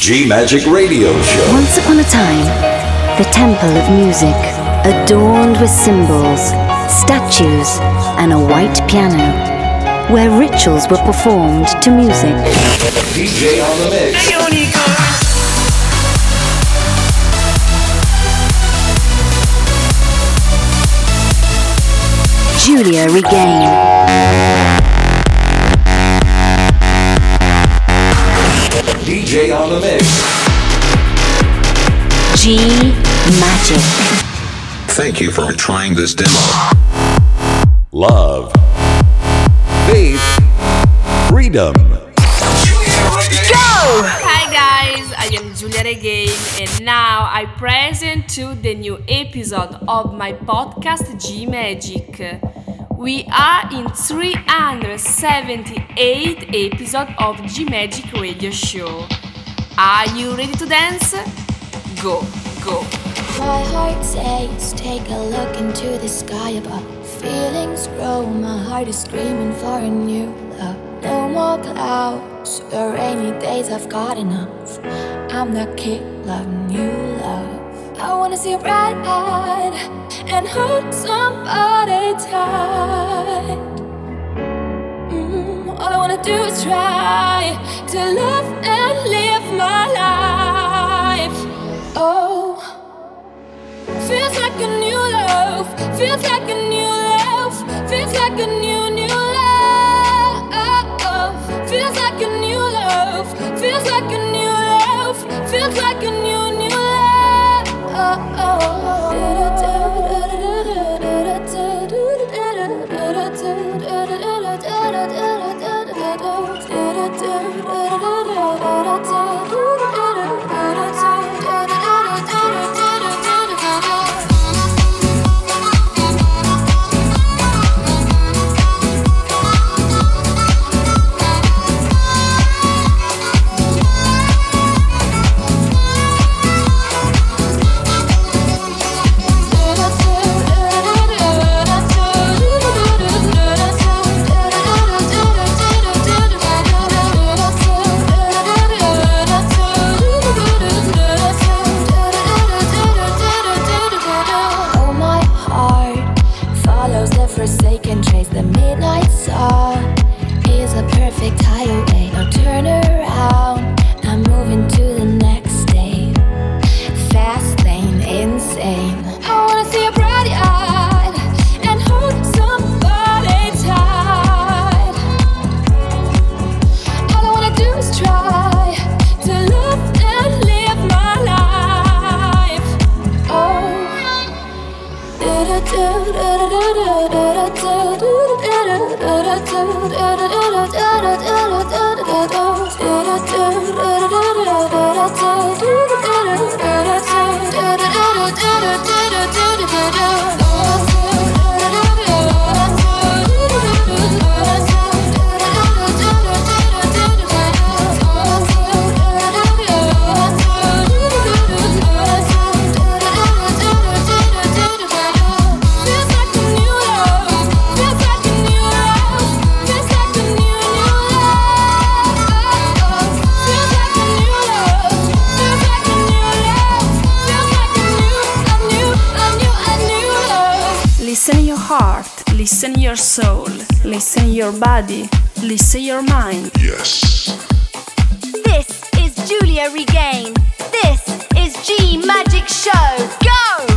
G-Magic Radio Show. Once upon a time, the temple of music, adorned with symbols, statues, and a white piano, where rituals were performed to music. DJ on the mix. Giulia Regain. DJ on the mix. G-Magic. Thank you for trying this demo. Love. Faith. Freedom. Go! Hi guys, I am Giulia Regain and now I present to the new episode of my podcast G-Magic. We are in 378 episode of G-Magic Radio Show. Are you ready to dance? Go, go. My heart says, take a look into the sky above. Feelings grow, my heart is screaming for a new love. No more clouds or rainy days, I've got enough. I'm that kid loving you, love. I wanna see you bright-eyed and hold somebody tight. All I wanna do is try to love and live my life. Oh, feels like a new love, feels like a new love, feels like a new love. Feels like a new love, feels like a new love, feels like a new love. Listen your soul, listen your body, listen your mind. Yes. This is Giulia Regain. This is G-Magic Show. Go!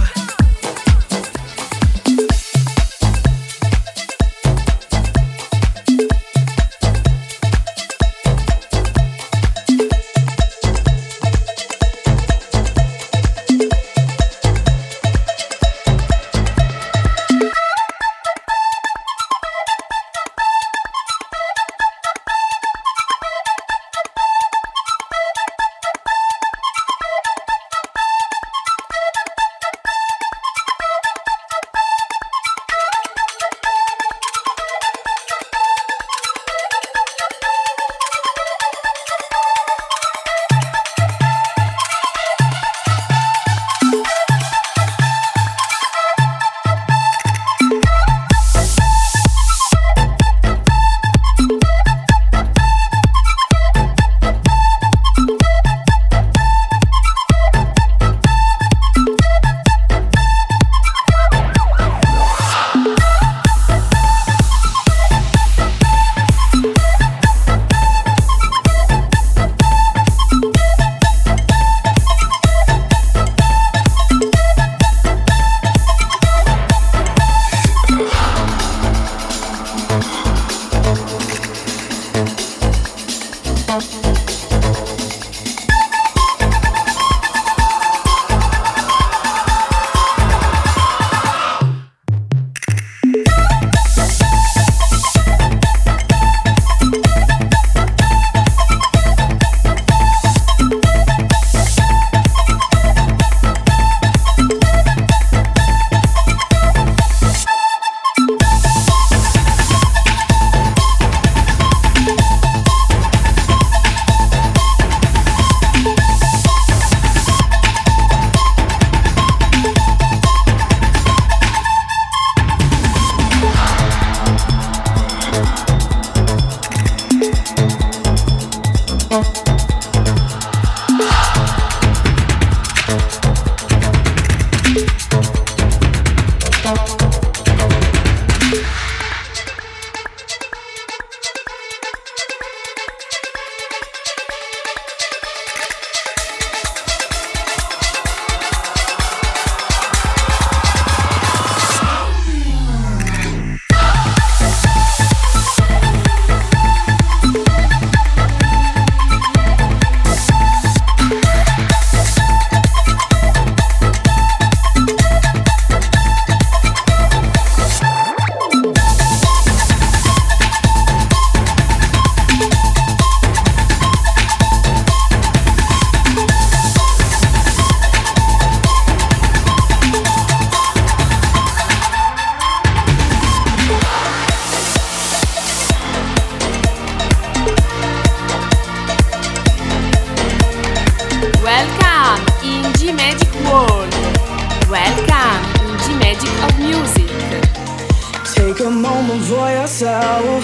Welcome in G-Magic of Music. Take a moment for yourself.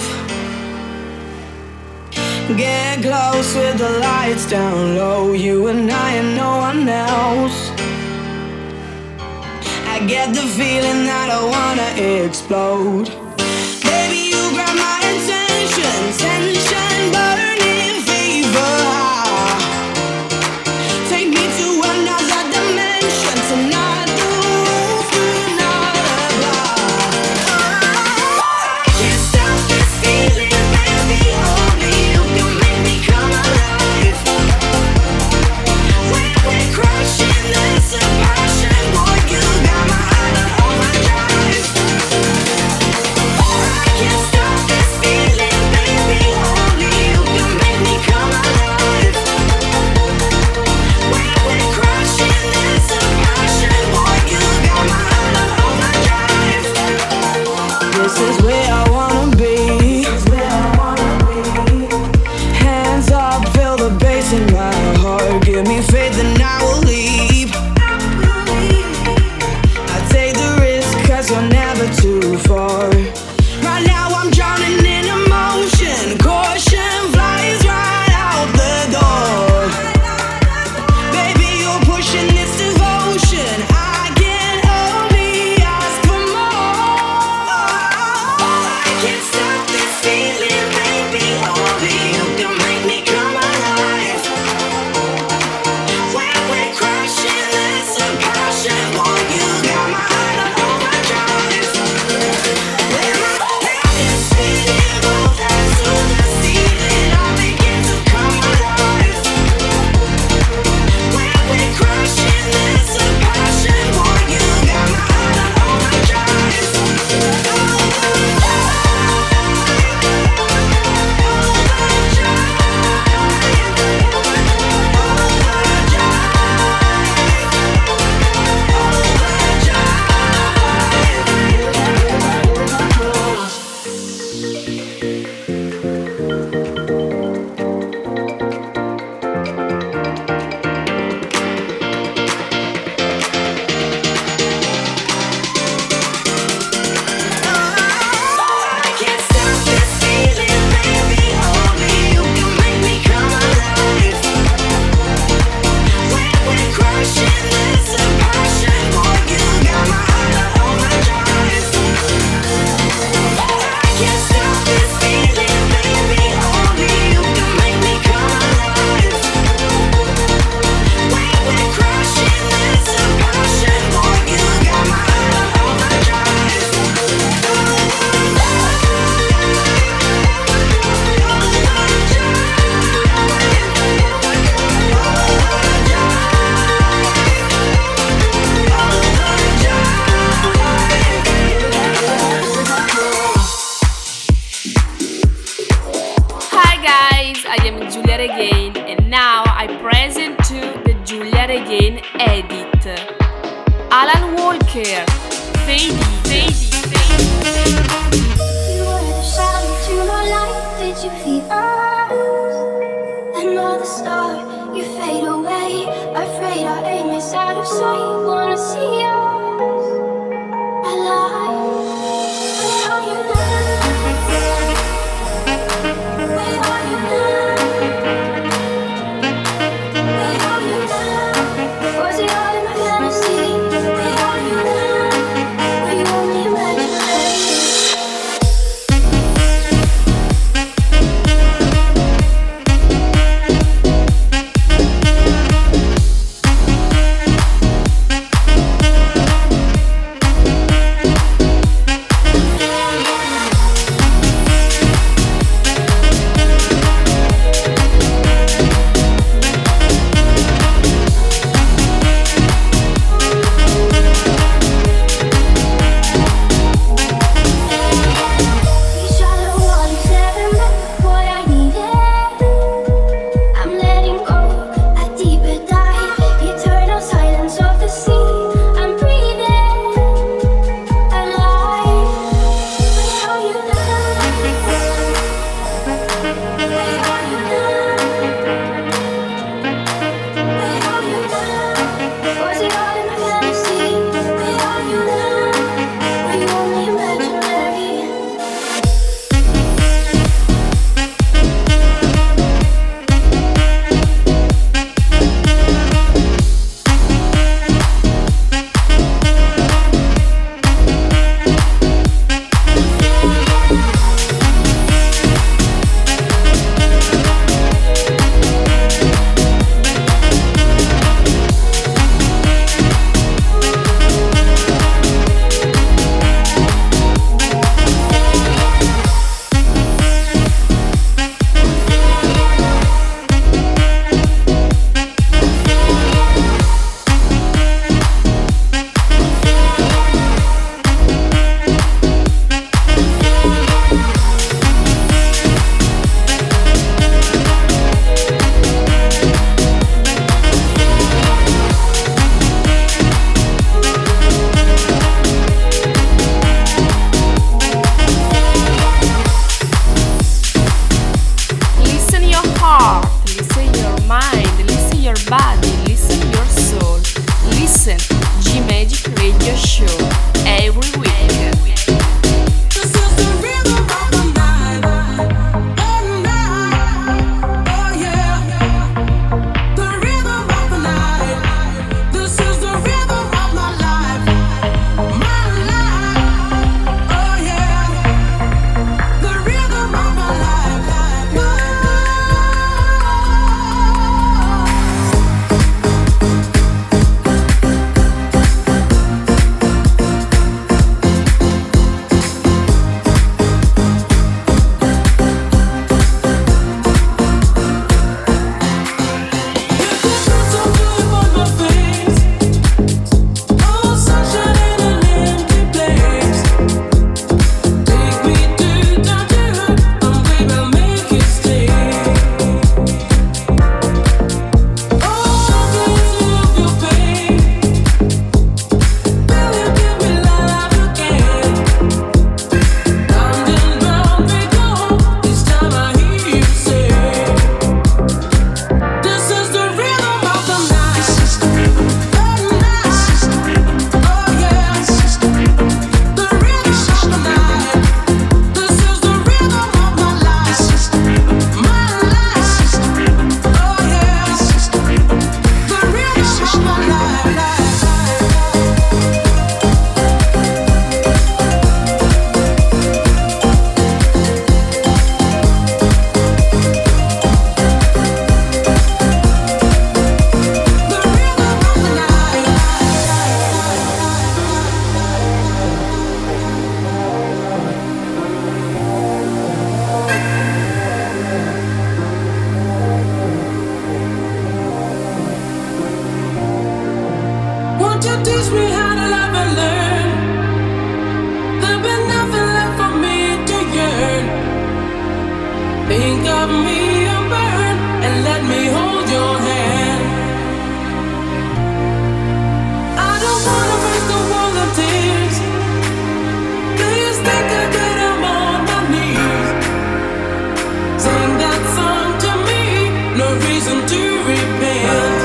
Get close with the lights down low. You and I and no one else. I get the feeling that I wanna explode. Baby, you grab my attention. Tension burning fever. Take me to another dimension. Tonight the roof will not apply. I can't stop this feeling, baby. Only you can make me come alive. When we're crushing, there's a passion. Boy, you got my heart on overdrive. I can't stop this feeling, baby. Only you can make me come alive. When we're crushing, there's a passion. Boy, you got my heart on overdrive. This is where I wanna be. Hands up, feel the bass in my heart. Give me faith and I will leap. I take the risk cause you're never too far. Right now I'm drowning in emotion. Caution flies right out the door. Baby, you're pushing this devotion. I can only ask for more. I can't stop this feeling, baby. Only you can make me come alive. When we're crashing, there's a passion. Boy, you got my heart on overdrive. When my head is spinning, both hands to the ceiling, I begin to come alive. When we're crashing, there's a passion. Boy, you got my heart on overdrive. I can't stop this feeling, baby. Only you can make me come alive. When we're crushing, there's a passion. Boy, you got my heart on overdrive. I can't stop this feeling, baby. Only you can make me come alive. When we're crushing, there's a passion. Boy, you got my heart on overdrive. Hi guys, I am Giulia Regain and now I present to the Giulia Regain edit. Alan Walker, Fady. You were the shadow to my light. Did you feel us? Another star, you fade away. Afraid our aim is out of sight. Wanna see us alive. Where are you now? Where are you now? Where are you now? Was it all in my fantasy? Where are you now? Were you only imaginary? think of me and burn and let me hold your hand. I don't wanna break the wall of tears. Please take a good, I'm on my knees. Sing that song to me, no reason to repent.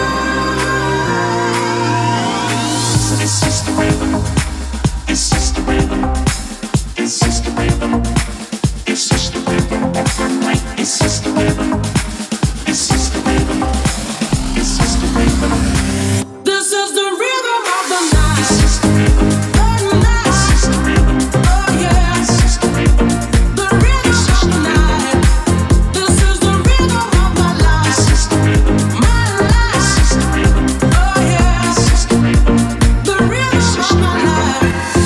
It's just the rhythm. It's just the rhythm. It's just the rhythm. It's just the rhythm. It's just the rhythm. It's just the rhythm. It's just the rhythm. This is the rhythm of the night. It's just the rhythm. The night. It's just the rhythm. Oh yeah. It's just the rhythm. The rhythm of the night. This is the rhythm of my life. It's just the rhythm. My life. It's just the rhythm. Oh yeah. It's just the rhythm. The rhythm of my life.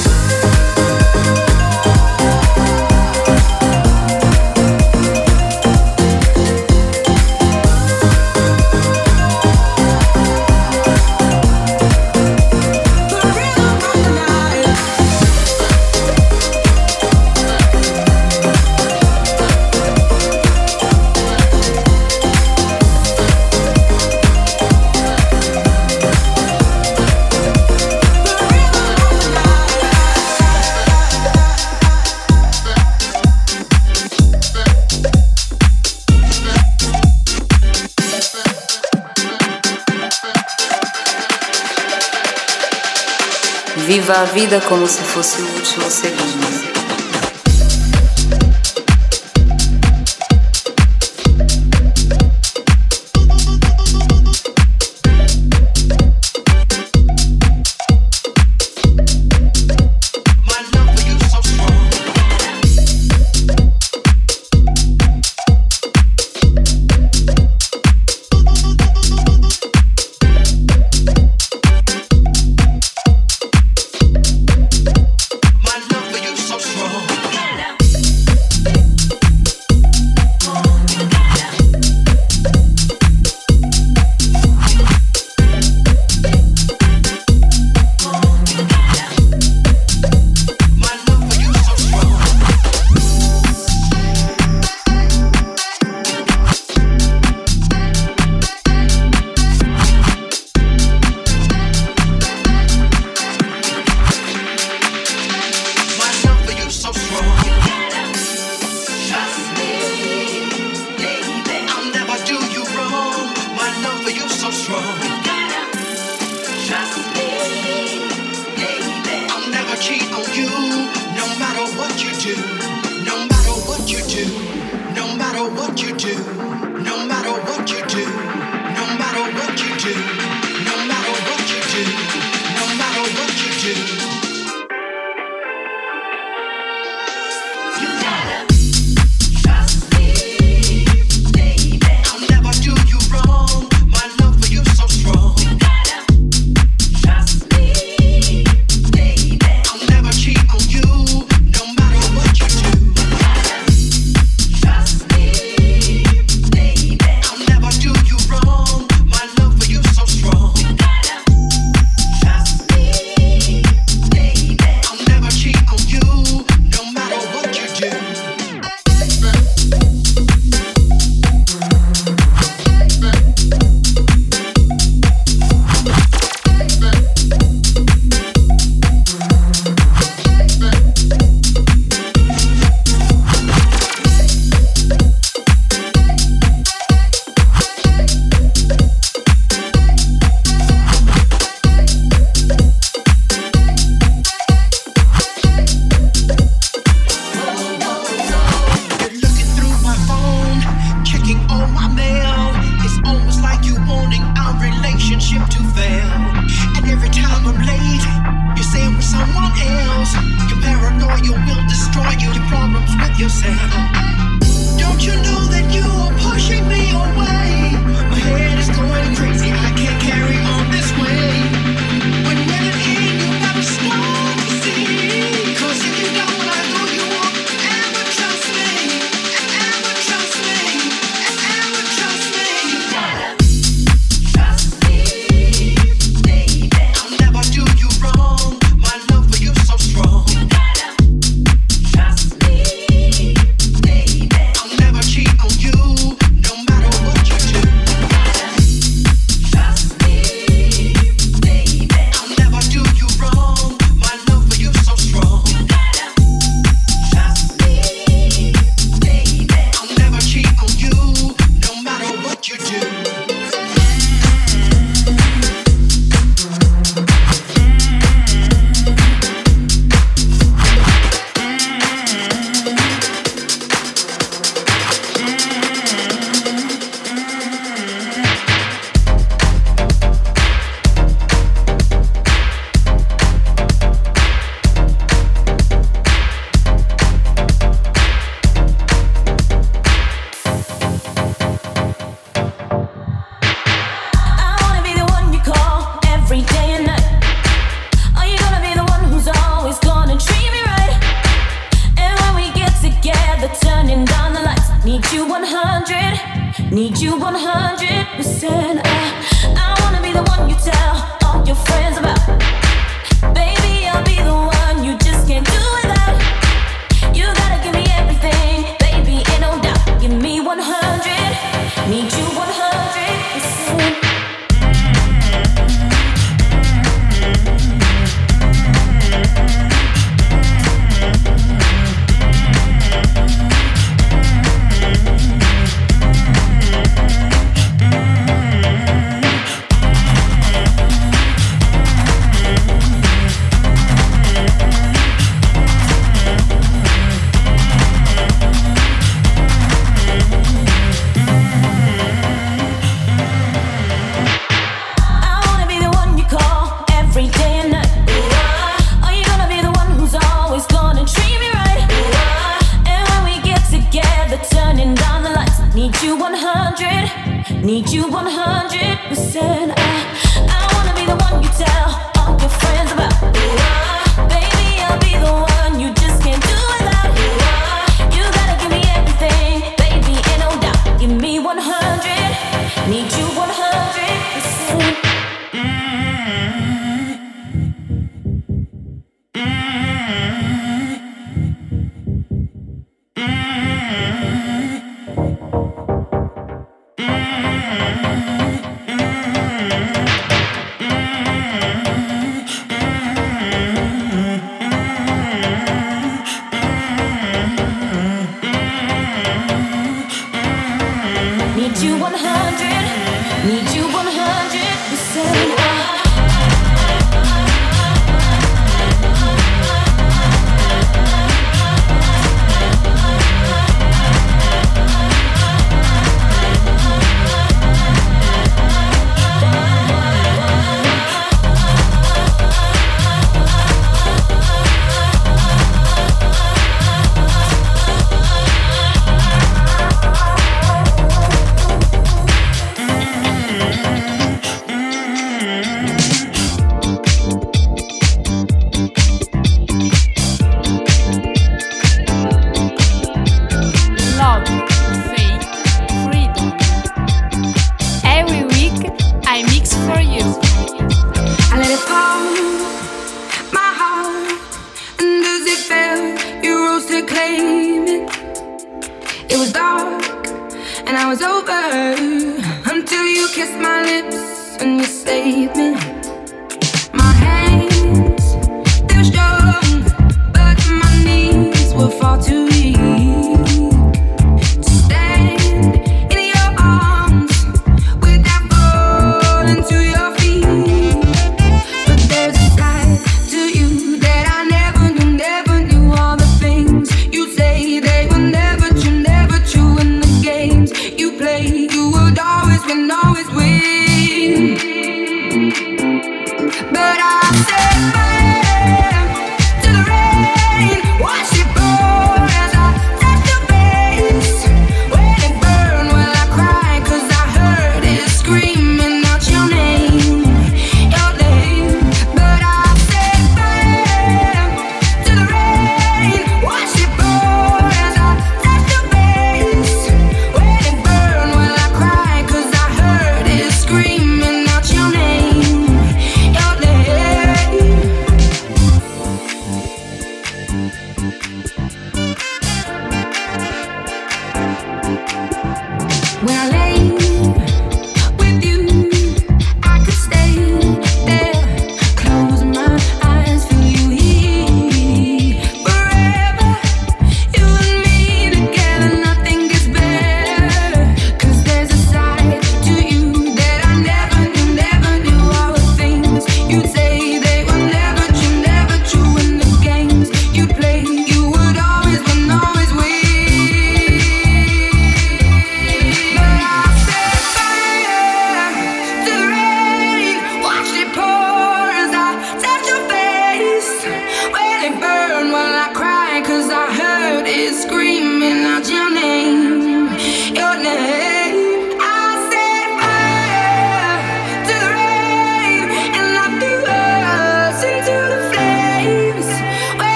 Viva a vida como se fosse o último segundo. 100, need you 100%. I wanna be the one you tell all your friends about. Baby, I'll be the one you just can't do without. You gotta give me everything, baby, ain't no doubt. Give me 100, need you 100%. Need you 100%. I wanna be the one you tell all your friends about. Baby, I'll be the one you just can't do without. You gotta give me everything, baby, ain't no doubt. Give me 100, need you 100%. Need you 100, need you 100%. But I said to the rain, wash it pouring.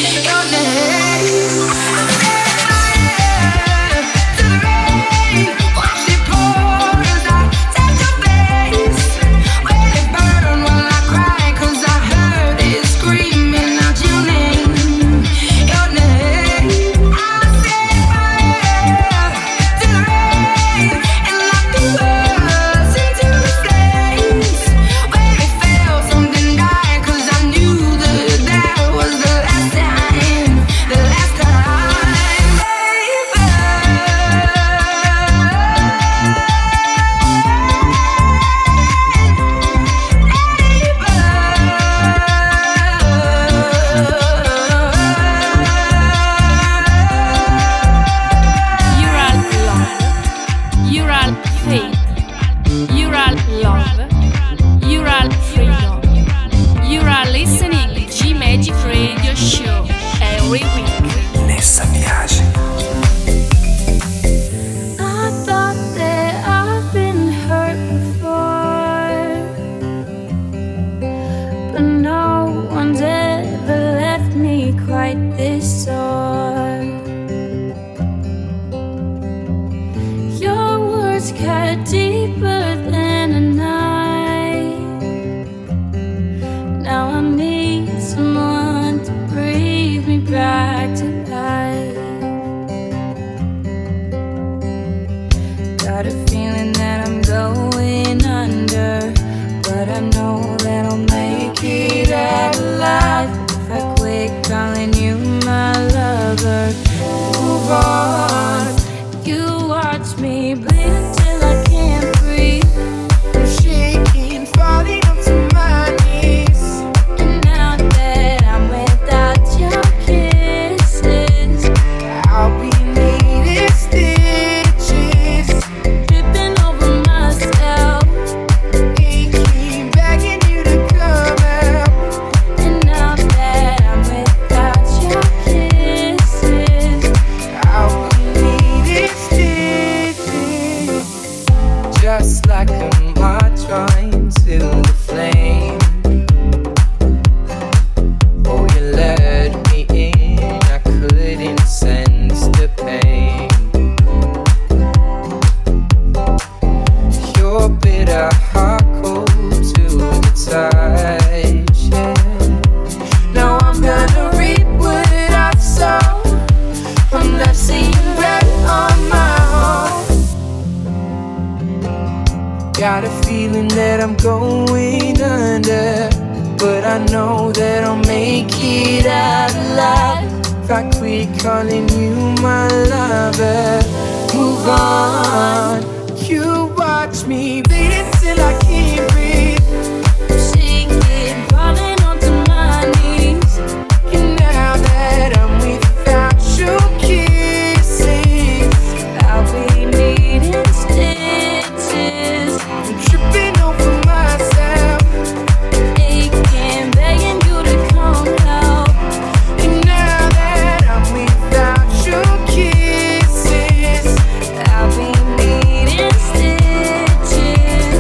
Got a feeling that I'm going under, but I know that I'll make it out alive. If I quit calling you my lover, move on. You watch me bleed till I can't breathe. Shaking, falling onto my knees. And now that I'm without your kisses, I'll be needing stitches. I'm tripping over myself, aching, begging you to come help. And now that I'm without your kisses, I'll be needing stitches.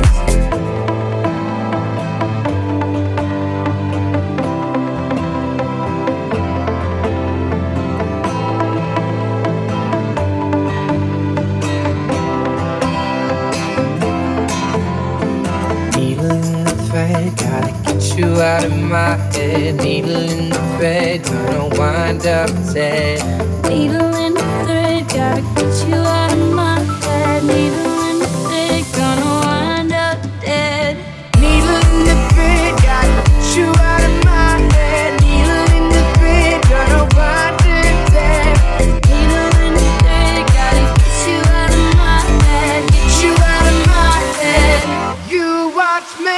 Needle in the thread, gotta get you out of my head. Needle in the thread, gonna wind up dead. Needle in the thread, gotta get you out of my head. Needle in the thread, gonna wind up dead. Needle in the thread, gotta get you out of my head. Needle in the thread, gonna wind up dead. Needle in the thread, gotta get you out of my head. Get you out of my head. You watch me.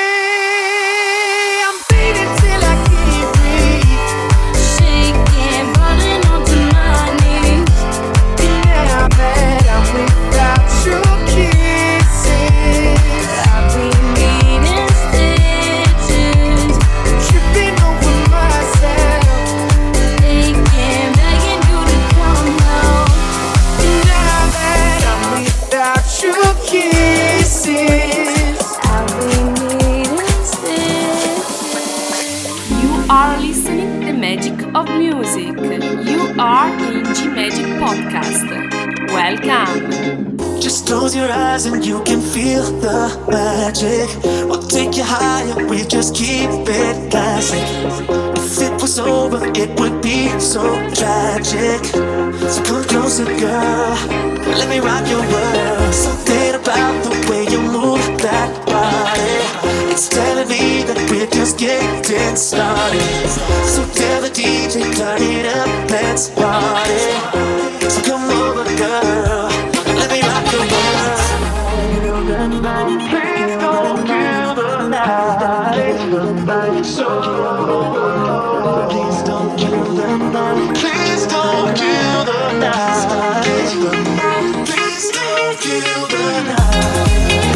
I'm bleeding till I can't breathe. Shaking, falling onto my knees. And now that magic of music. You are in G Magic Podcast. Welcome. Just close your eyes and you can feel the magic. We'll take you higher, we just keep it classic. If it was over, it would be so tragic. So come closer, girl, let me rock your world. Something about the way you move that body, it's telling me that we're just getting started. So tell the DJ, turn it up, let's party. So come over, girl, let me rock your world. Please don't kill the night. So please don't kill the night. Please don't kill the night. Please don't kill the night.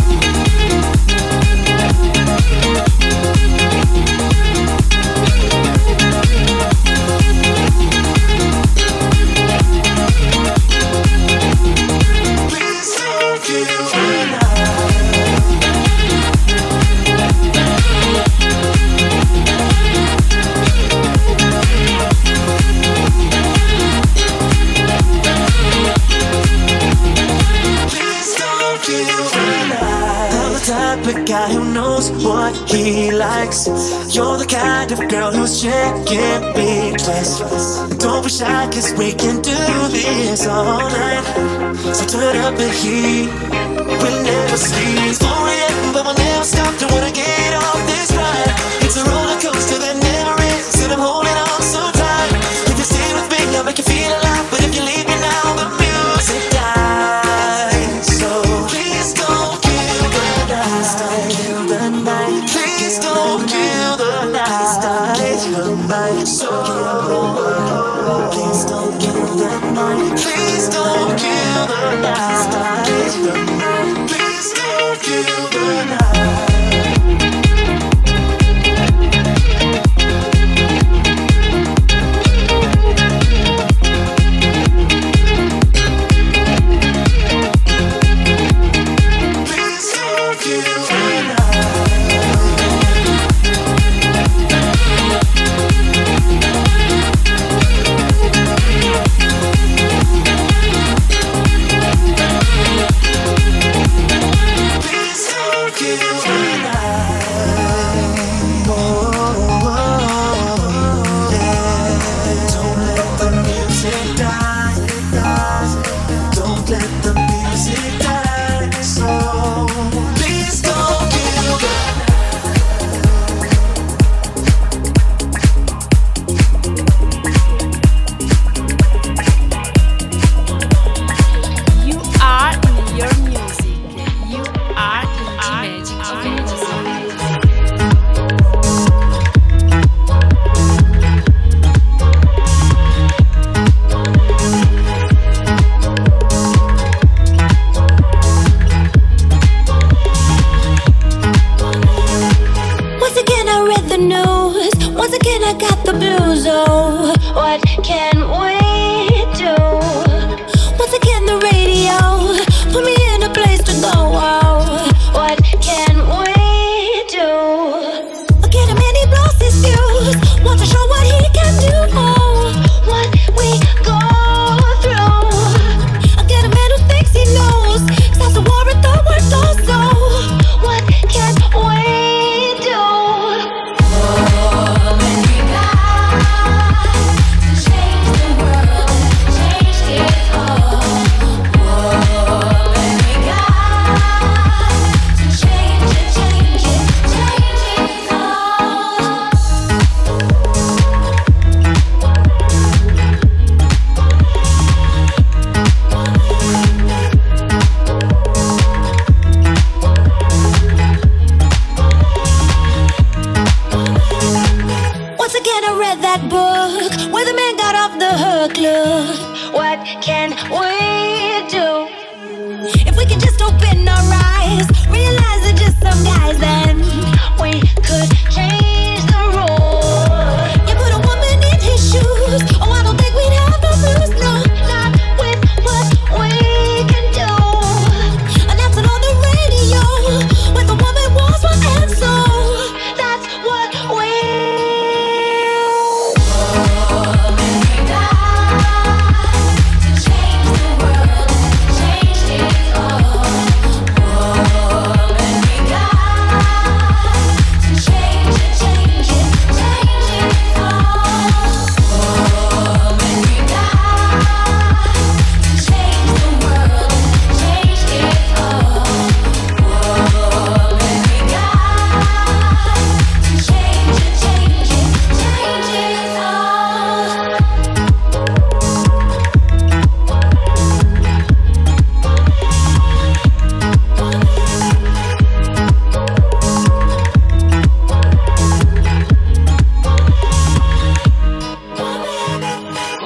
The guy who knows what he likes. You're the kind of girl who's checking big twice. Don't be shy, cause we can do this all night. So turn up the heat, we'll never sleep. 4 AM, but we'll never stop. Don't wanna get off this ride. It's a roller coaster that never ends, and I'm holding on so tight. If you stay with me, I'll make you feel alive. But if you leave me now, the music dies. So please don't kill the night. Please don't kill the night. So please don't kill the night. Please don't kill the night. Please don't kill the night.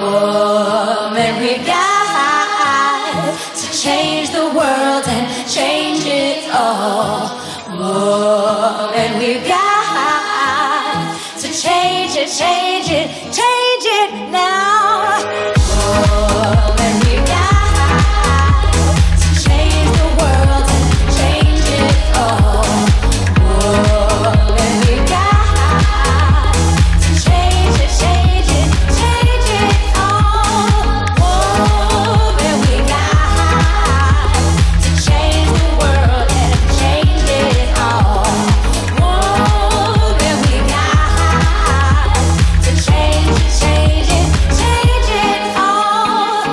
Woman, we got to change the world and change it all. Woman, we got to change it, change it, change it now. Woman, we got to change the world and change it all. Woman, we got to change it, change it, change it all. Woman, we got to change the world and change it all. Woman, we got to change it, change it, change it all.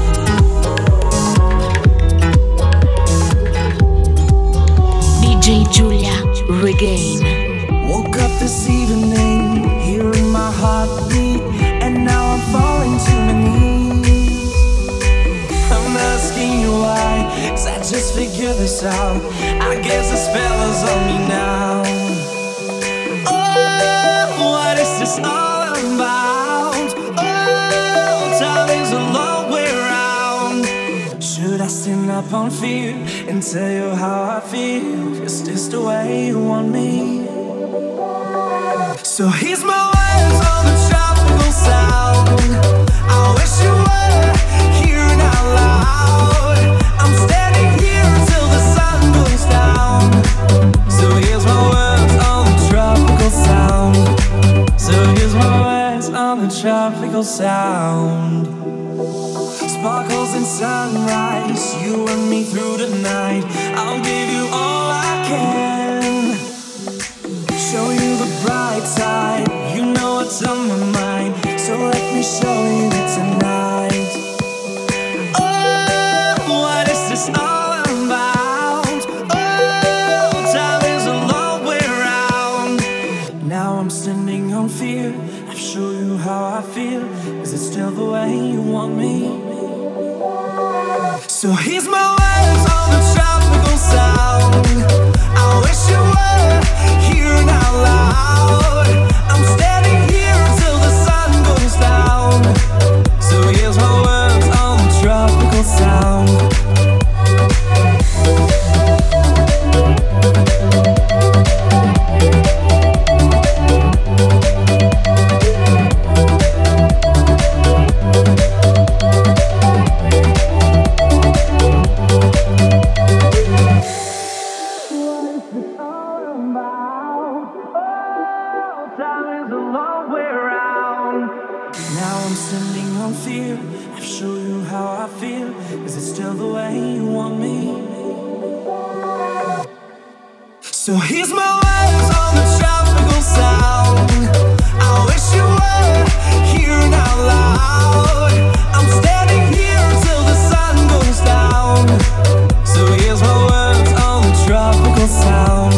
DJ Giulia Regain. Woke up this evening, hearing my heartbeat, and now I'm falling to my knees. I'm asking you why, 'cause I just figured this out. I guess the spell is on me now. Oh, what is this all about? Oh, time is a long way around. Should I stand up on fear and tell you how I feel? Is this the way you want me? So here's my words on the tropical sound. I wish you were here out loud. I'm standing here till the sun goes down. So here's my words on the tropical sound. So here's my words on the tropical sound. Sparkles and sunrise, you and me through the night. I'll give you all I can. Show you the bright side, you know what's on my mind. So let me show you tonight. Oh, what is this all about? Oh, time is a long way around. Now I'm standing on fear. I'll show you how I feel. Is it still the way you want me? So here's my words on the tropical sound. I wish you were here out loud. I'm standing here till the sun goes down. So here's my words on the tropical sound. Time is a long way around. Now I'm standing on fear. I'll show you how I feel. Is it still the way you want me? So here's my words on the tropical sound. I wish you were here out loud. I'm standing here till the sun goes down. So here's my words on the tropical sound.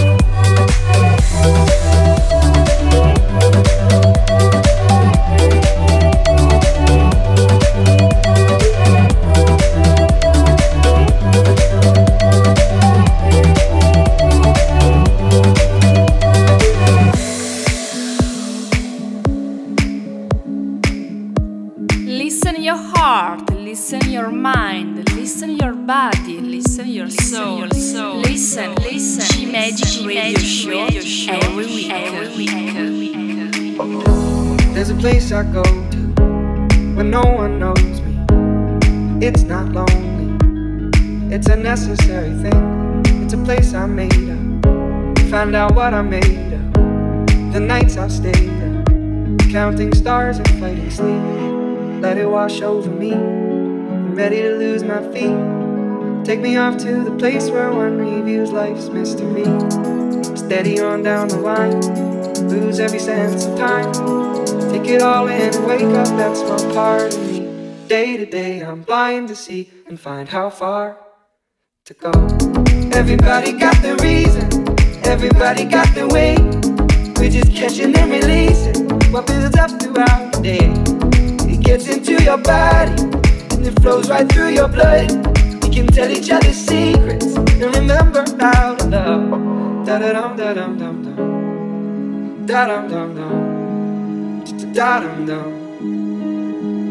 Listen your heart, listen your mind, listen your body, listen your soul. Listen, G-Magic Radio Show every week. There's a place I go to when no one knows me. It's not lonely, it's a necessary thing. It's a place I made up, find out what I made of. The nights I've stayed up, counting stars and fighting sleep. Let it wash over me, I'm ready to lose my feet. Take me off to the place where one reviews life's mystery. Steady on down the line, lose every sense of time. Take it all in and wake up that small part of me. Day to day I'm blind to see and find how far to go. Everybody got the reason, everybody got the way. We're just catching and releasing what builds up throughout the day. It gets into your body and it flows right through your blood. We can tell each other secrets and remember how to love. Da-da-dum, da-dum, dum, dum. Da-dum, dum, dum. Da-dum, dum.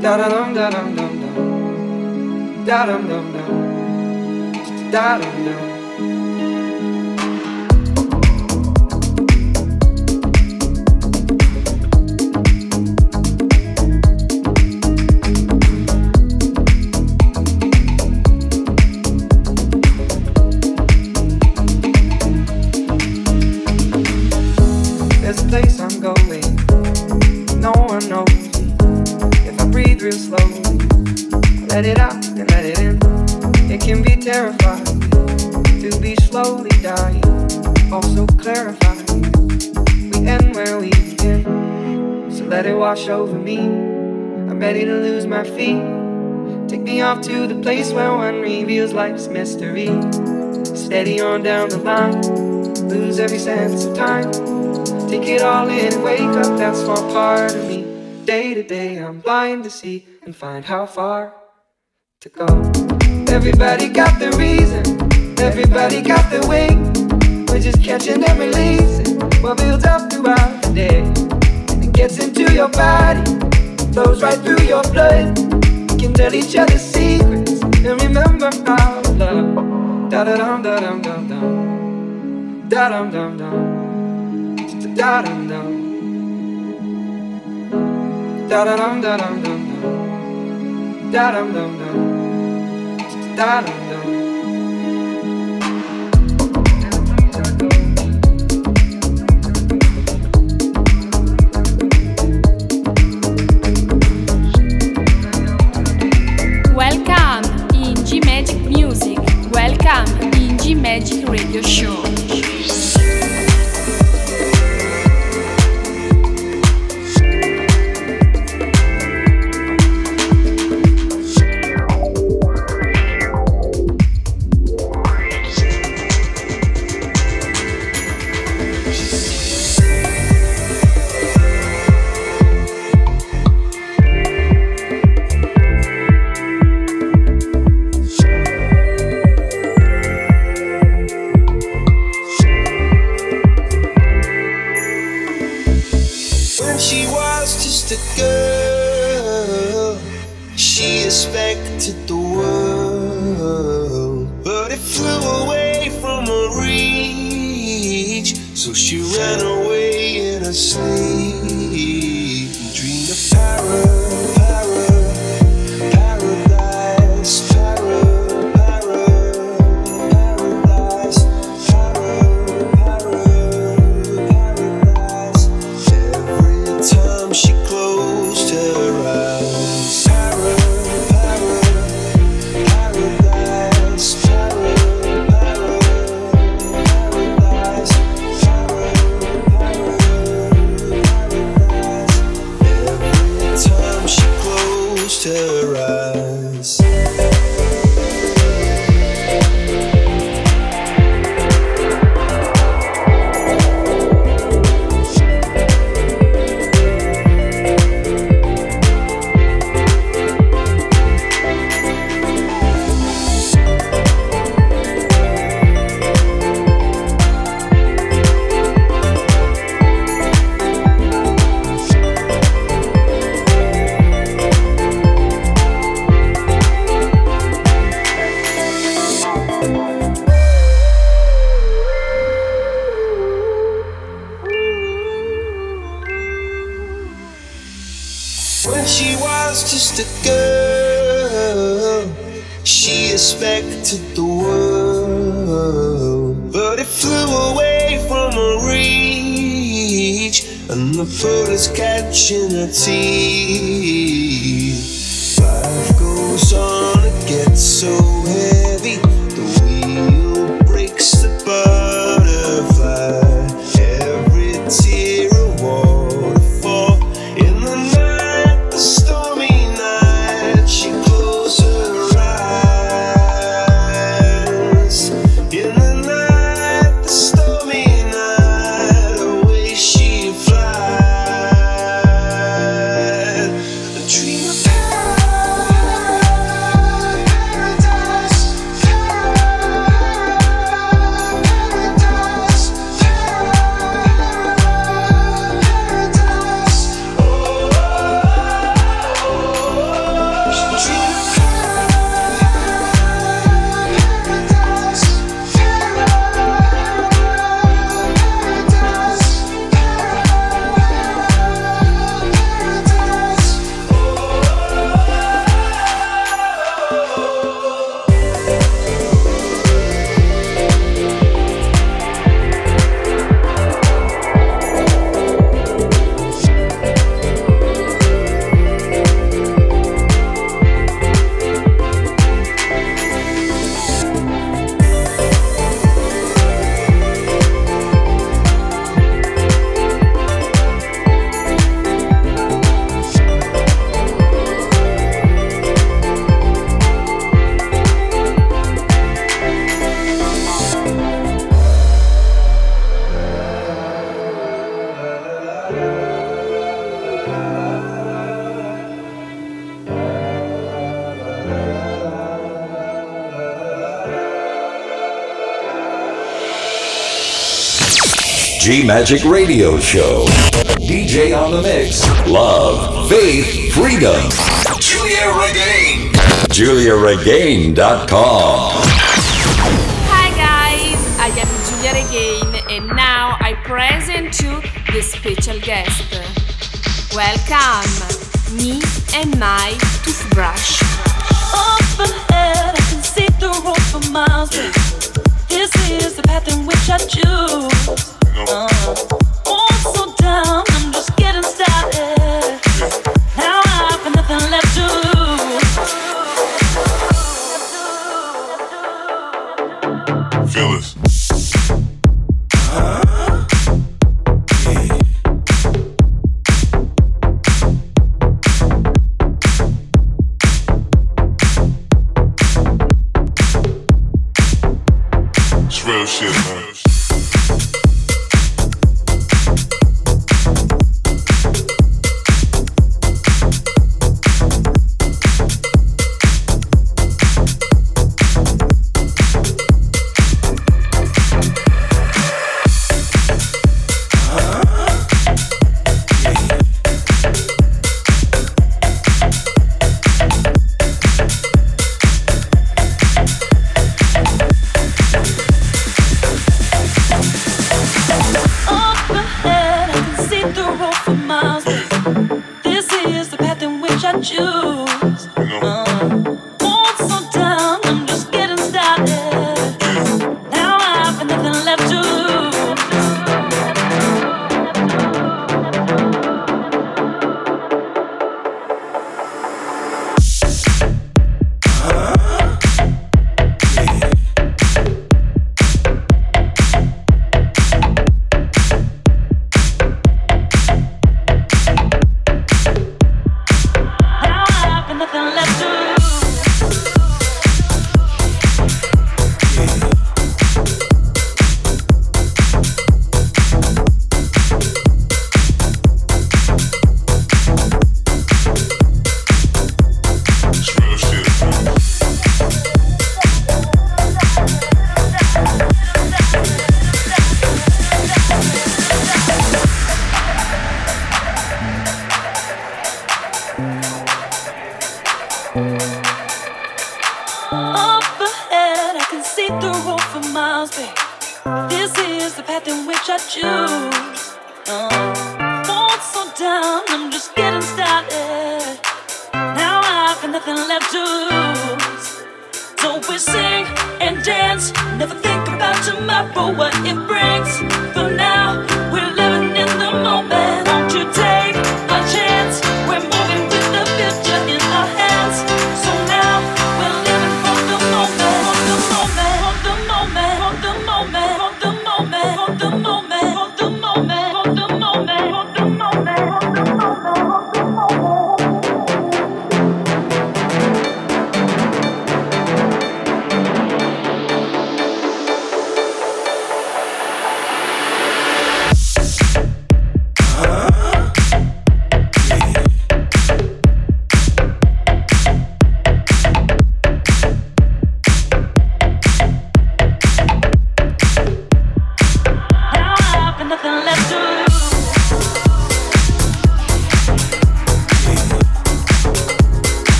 Da da dum da dum dum dum. Da dum dum dum. Da dum dum. There's a place I'm going, no one knows me. If I breathe real slowly, I let it out and let it in. It can be terrifying to be slowly dying, also clarifying. We end where we begin, so let it wash over me. I'm ready to lose my feet. Take me off to the place where one reveals life's mystery. Steady on down the line, lose every sense of time. Take it all in and wake up that small part of me. Day to day I'm blind to see and find how far to go. Everybody got the reason, everybody got the way. We're just catching and releasing what builds up throughout the day. It gets into your body, flows right through your blood. We can tell each other secrets and remember our love. Da da dum da dum dum dum. Da dum dum dum. Da dum dum. Da da dum da dum dum dum. Da dum dum dum. Da dum dum. Welcome in G Magic Music. Welcome in G Magic Radio Show. When she was just a girl, she expected the world, but it flew away from her reach, and the bullets catching her teeth. Life goes on, it gets so heavy, the wheel breaks the butterfly. Every tear a waterfall in the night, the stormy night. She closed her eyes. In the night, the stormy night, away she flies. A dream of paradise. G Magic Radio Show. DJ on the mix. Love, faith, freedom. Julia Regain. JuliaRegain.com. Hi guys, I am Julia Regain and now I present you the special guest. Welcome, me and my toothbrush. Up ahead, I can see the road for miles. This is the path in which I choose. Also down, I'm just getting started. Now I've got nothing left to lose. Feel this. It's real shit, man.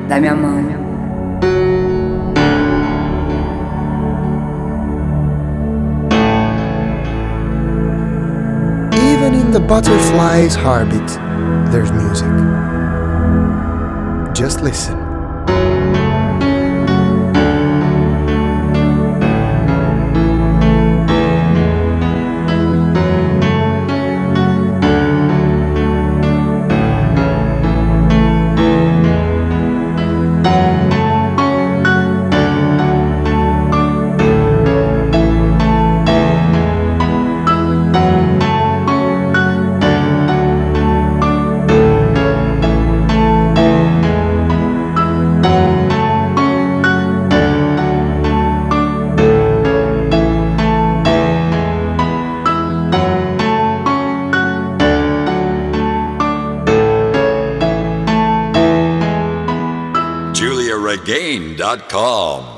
dammi amore. Even in the butterfly's heartbeat, there's music. Just listen. JuliaRegain.com